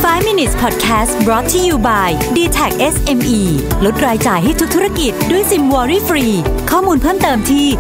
5 minutes podcast brought to you by DTAC SME ลดรายจ่ายให้ทุกธุรกิจด้วยซิมวอรี่ฟรีข้อมูลเพิ่มเติมที่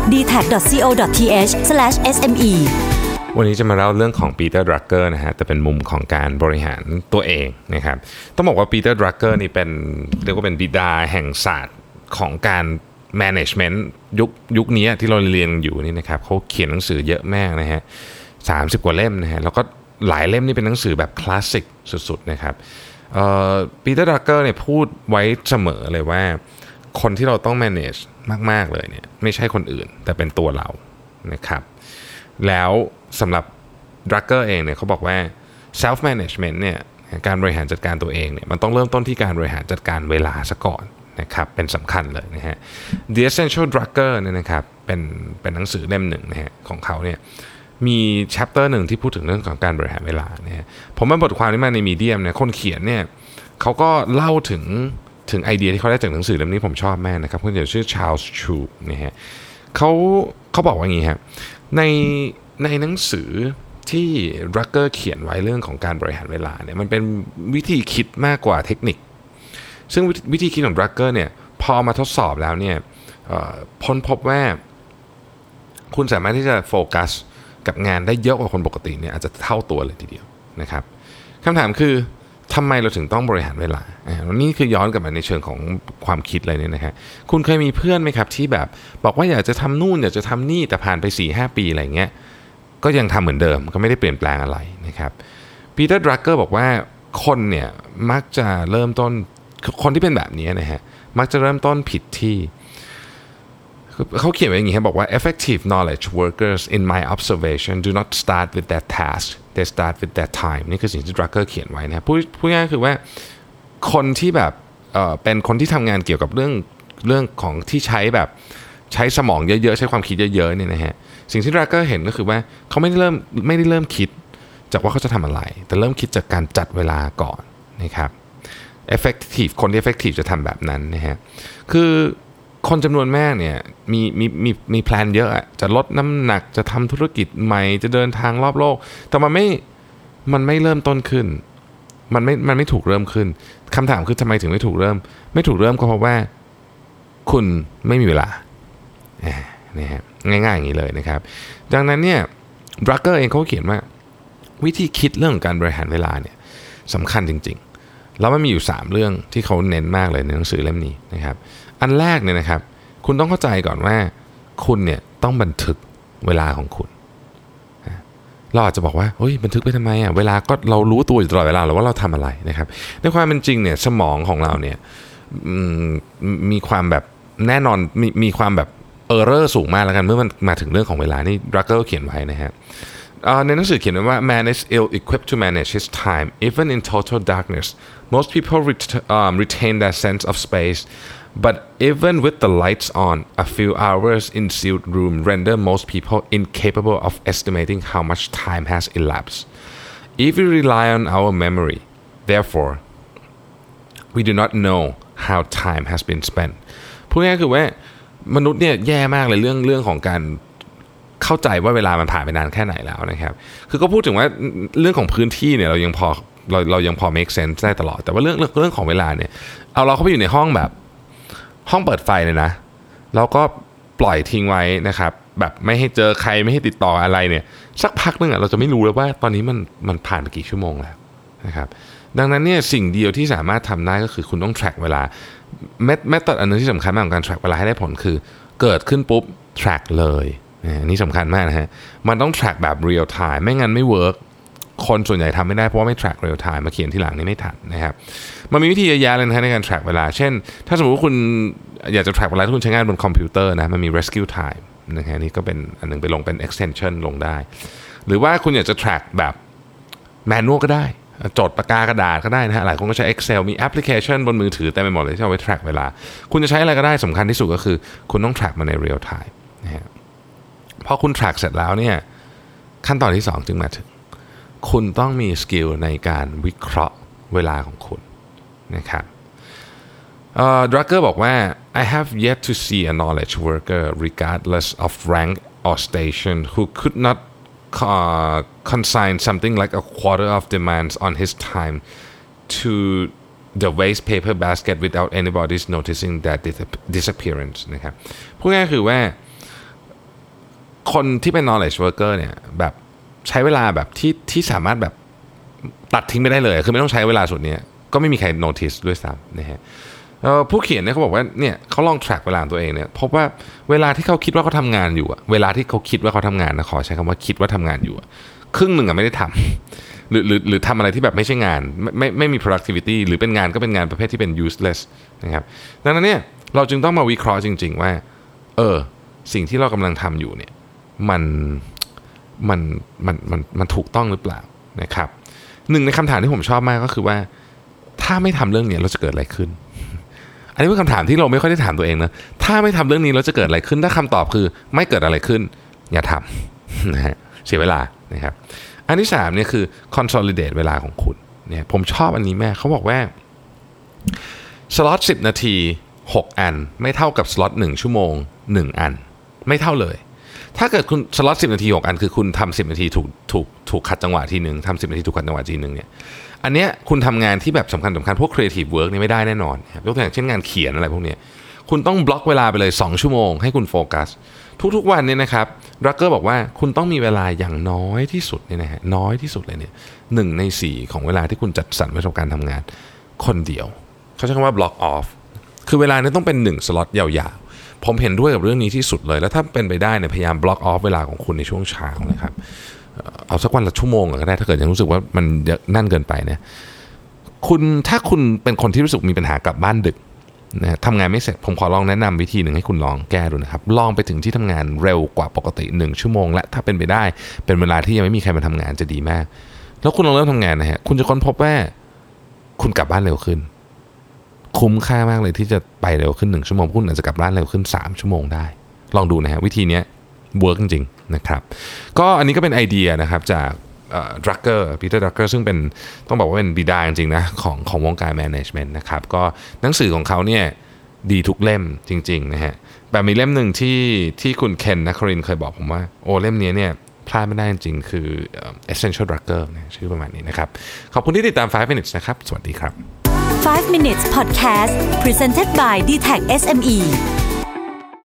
dtac.co.th/sme วันนี้จะมาเล่าเรื่องของปีเตอร์ดรักเกอร์นะฮะแต่เป็นมุมของการบริหารตัวเองนะครับต้องบอกว่าปีเตอร์ดรักเกอร์นี่เป็นเรียกว่าเป็นบิดาแห่งศาสตร์ของการ management ยุคนี้ที่เราเรียนอยู่นี่นะครับเขาเขียนหนังสือเยอะมากนะฮะ30 กว่าเล่มนะฮะแล้วก็หลายเล่มนี่เป็นหนังสือแบบคลาสสิกสุดๆนะครับปีเตอร์ดรักเกอร์เนี่ยพูดไว้เสมอเลยว่าคนที่เราต้อง manage มากๆเลยเนี่ยไม่ใช่คนอื่นแต่เป็นตัวเรานะครับแล้วสำหรับดรักเกอร์เองเนี่ยเขาบอกว่า self management เนี่ยการบริหารจัดการตัวเองเนี่ยมันต้องเริ่มต้นที่การบริหารจัดการเวลาซะก่อนนะครับเป็นสำคัญเลยนะฮะ The Essential Drugger เนี่ยนะครับเป็นหนังสือเล่มหนึ่งนะฮะของเขาเนี่ยมี chapter หนึ่งที่พูดถึงเรื่องของการบริหารเวลานะฮะผมว่าบทความนี้มาในมีเดียมเนี่ยคนเขียนเนี่ยเขาก็เล่าถึงไอเดียที่เขาได้จากหนังสือเล่มนี้ผมชอบมากนะครับคนเขียนชื่อ Charles Chu นะฮะเขาบอกว่าอย่างนี้ครับในหนังสือที่ดรักเกอร์เขียนไว้เรื่องของการบริหารเวลาเนี่ยมันเป็นวิธีคิดมากกว่าเทคนิคซึ่งวิธีคิดของดรักเกอร์เนี่ยพอมาทดสอบแล้วเนี่ยพ้นพบว่าคุณสามารถที่จะโฟกัสกับงานได้เยอะกว่าคนปกติเนี่ยอาจจะเท่าตัวเลยทีเดียวนะครับคำถามคือทำไมเราถึงต้องบริหารเวลานี่คือย้อนกลับมาในเชิงของความคิดเลยเนี่ยนะครับคุณเคยมีเพื่อนไหมครับที่แบบบอกว่าอยากจะทำนู่นอยากจะทำนี่แต่ผ่านไป 4-5 ปีอะไรเงี้ยก็ยังทำเหมือนเดิมก็ไม่ได้เปลี่ยนแปลงอะไรนะครับปีเตอร์ดรักเกอร์บอกว่าคนเนี่ยมักจะเริ่มต้นคนที่เป็นแบบนี้นะฮะมักจะเริ่มต้นผิดที่เขาเขียนไว้อย่างนี้ครับบอกว่า effective knowledge workers in my observation do not start with their task they start with their time นี่คือสิ่งที่ดรักเกอร์เขียนไว้นะพูดง่ายๆคือว่าคนที่แบบเป็นคนที่ทำงานเกี่ยวกับเรื่องของที่ใช้แบบใช้สมองเยอะๆใช้ความคิดเยอะๆเนี่ยนะฮะสิ่งที่ดรักเกอร์เห็นก็คือว่าเขาไม่ได้เริ่มคิดจากว่าเขาจะทำอะไรแต่เริ่มคิดจากการจัดเวลาก่อนนะครับ effective คนที่ effective จะทำแบบนั้นนะฮะคือคนจำนวนมากเนี่ยมีแพลนเยอะจะลดน้ำหนักจะทำธุรกิจใหม่จะเดินทางรอบโลกแต่มันไม่เริ่มต้นขึ้นมันไม่ถูกเริ่มขึ้นคำถามคือทำไมถึงไม่ถูกเริ่มก็เพราะว่าคุณไม่มีเวลานะฮะง่ายๆอย่างนี้เลยนะครับดังนั้นเนี่ยดรักเกอร์เองเขาเขียนว่าวิธีคิดเรื่องของการบริหารเวลาเนี่ยสำคัญจริงๆแล้วมันมีอยู่3เรื่องที่เขาเน้นมากเลยในหนังสือเล่มนี้นะครับอันแรกเนี่ยนะครับคุณต้องเข้าใจก่อนว่าคุณเนี่ยต้องบันทึกเวลาของคุณเราอาจจะบอกว่าเฮ้ยบันทึกไปทำไมเวลาก็เรารู้ตัวอยู่ตลอดเวลาหรือว่าเราทำอะไรนะครับในความเป็นจริงเนี่ยสมองของเราเนี่ยมีความแบบแน่นอนมีความแบบเออร์เรอร์สูงมากแล้วกันเมื่อมันมาถึงเรื่องของเวลานี่ดรักเกอร์เขียนไว้นะฮะในหนังสือเขียนไว้ว่า man is ill equipped to manage his time even in total darkness most people retain their sense of space but even with the lights on a few hours in sealed room render most people incapable of estimating how much time has elapsed if we rely on our memory therefore we do not know how time has been spent พูดง่ายๆคือว่ามนุษย์เนี่ยแย่มากเลยเรื่องของการเข้าใจว่าเวลามันผ่านไปนานแค่ไหนแล้วนะครับคือก็พูดถึงว่าเรื่องของพื้นที่เนี่ยเรายังพอ make sense ได้ตลอดแต่ว่าเรื่องของเวลาเนี่ยเอาเราเข้าไปอยู่ในห้องแบบห้องเปิดไฟเลยนะแล้วก็ปล่อยทิ้งไว้นะครับแบบไม่ให้เจอใครไม่ให้ติดต่ออะไรเนี่ยสักพักนึงเราจะไม่รู้เลยว่าตอนนี้มันผ่านไปกี่ชั่วโมงแล้วนะครับดังนั้นเนี่ยสิ่งเดียวที่สามารถทำได้ก็คือคุณต้อง track เวลาmethod อันนึงที่สำคัญมากของการ track เวลาให้ได้ผลคือเกิดขึ้นปุ๊บ track เลยนี่สำคัญมากนะฮะมันต้อง track แบบ real time ไม่งั้นไม่ work คนส่วนใหญ่ทำไม่ได้เพราะว่าไม่ track real time มาเขียนที่หลังนี่ไม่ทันนะครับมันมีวิธีเยอะแยะเลยนะในการ track เวลาเช่นถ้าสมมติว่าคุณอยากจะ track เวลาที่คุณใช้งานบนคอมพิวเตอร์นะมันมี rescue time นะฮะนี่ก็เป็นอันนึงไปลงเป็น extension ลงได้หรือว่าคุณอยากจะ track แบบ manual ก็ได้จดปากกากระดาษก็ได้นะฮะหลายคนก็ใช้ Excel มีแอปพลิเคชันบนมือถือเต็มไปหมดเลยที่เอาไว้ track เวลาคุณจะใช้อะไรก็ได้สำคัญที่สุดก็คือคุณต้อง track มาใน real time นะฮะพอคุณ track เสร็จแล้วเนี่ยขั้นตอนที่2จึงมาถึงคุณต้องมีสกิลในการวิเคราะห์เวลาของคุณนะครับดรักเกอร์บอกว่า I have yet to see a knowledge worker regardless of rank or station who could not consign something like a quarter of demands on his time to the waste paper basket without anybody's noticing that disappearance นะครับพูดง่ายๆคือว่าคนที่เป็น knowledge worker เนี่ยแบบใช้เวลาแบบที่สามารถแบบตัดทิ้งไม่ได้เลยคือไม่ต้องใช้เวลาส่วนนี้ก็ไม่มีใคร notice ด้วยซ้ำนะฮะผู้เขียนเนี่ยเขาบอกว่าเนี่ยเขาลอง track เวลาตัวเองเนี่ยพบว่าเวลาที่เขาคิดว่าเขาทำงานอยู่เวลาที่เขาคิดว่าเขาทำงานนะขอใช้คำว่าคิดว่าทำงานอยู่ครึ่งหนึ่งไม่ได้ทำหรือทำอะไรที่แบบไม่ใช่งานไม่มี productivity หรือเป็นงานก็เป็นงานประเภทที่เป็น useless นะครับดังนั้นเนี่ยเราจึงต้องมาวิเคราะห์จริงๆว่าสิ่งที่เรากำลังทำอยู่เนี่ยมันถูกต้องหรือเปล่านะครับหนึ่งในคำถามที่ผมชอบมากก็คือว่าถ้าไม่ทำเรื่องนี้เราจะเกิดอะไรขึ้นอันนี้เป็นคำถามที่เราไม่ค่อยได้ถามตัวเองนะถ้าไม่ทำเรื่องนี้เราจะเกิดอะไรขึ้นถ้าคำตอบคือไม่เกิดอะไรขึ้นอย่าทำนะฮะเสียเวลานะครับอันที่3เนี่ยคือ consolidate เวลาของคุณเนี่ยผมชอบอันนี้แม่เขาบอกว่าสล็อต10นาที6อันไม่เท่ากับสล็อต1ชั่วโมง1อันไม่เท่าเลยถ้าเกิดคุณสล็อต10นาที6อันคือคุณทำ10นาทีถูกขัดจังหวะทีนึงทำ10นาทีถูกขัดจังหวะทีนึงเนี่ยอันเนี้ยคุณทำงานที่แบบสำคัญพวก creative work นี่ไม่ได้แน่นอนยกตัวอย่างเช่นงานเขียนอะไรพวกนี้คุณต้องบล็อกเวลาไปเลย2ชั่วโมงให้คุณโฟกัสทุกๆวันเนี่ยนะครับรักเกอร์บอกว่าคุณต้องมีเวลาอย่างน้อยที่สุดเนี่ยนะฮะน้อยที่สุดเลยเนี่ย1ใน4ของเวลาที่คุณจัดสรรไว้สำหรับการทำงานคนเดียวเขาใช้คำว่า block off คือเวลานี้ต้องเป็น1สล็อตยาวๆผมเห็นด้วยกับเรื่องนี้ที่สุดเลยแล้วถ้าเป็นไปได้เนี่ยพยายาม block off เวลาของคุณในช่วงเช้านะครับเอาสักวันละชั่วโมงก็ได้ถ้าเกิดยังรู้สึกว่ามันนั่นเกินไปเนี่ยถ้าคุณเป็นคนที่รู้สึกมีปัญหากลับบ้านดึกนะทำงานไม่เสร็จผมขอลองแนะนำวิธีหนึ่งให้คุณลองแก้ดูนะครับลองไปถึงที่ทำงานเร็วกว่าปกติ1ชั่วโมงและถ้าเป็นไปได้เป็นเวลาที่ยังไม่มีใครมาทำงานจะดีมากแล้วคุณลองเริ่มทำงานนะฮะคุณจะค้นพบว่าคุณกลับบ้านเร็วขึ้นคุ้มค่ามากเลยที่จะไปเร็วขึ้น1ชั่วโมงคุณอาจจะกลับบ้านเร็วขึ้น3ชั่วโมงได้ลองดูนะฮะวิธีนี้เวิร์กจริงๆนะครับก็อันนี้ก็เป็นไอเดียนะครับจากดรักเกอร์ปีเตอร์ดรักเกอร์ซึ่งเป็นต้องบอกว่าเป็นบิดาจริงๆนะของวงการแมネจเมนต์นะครับก็หนังสือของเขาเนี่ยดีทุกเล่มจริงๆนะฮะแต่มีเล่มหนึ่งที่คุณเคนนัครินเคยบอกผมว่าโอ้เล่มนี้เนี่ยพลาดไม่ได้จริงๆคือ Essential Drugger นะชื่อประมาณนี้นะครับขอบคุณที่ติดตาม5 minutes นะครับสวัสดีครับ 5 minutes podcast presented by DTAC SME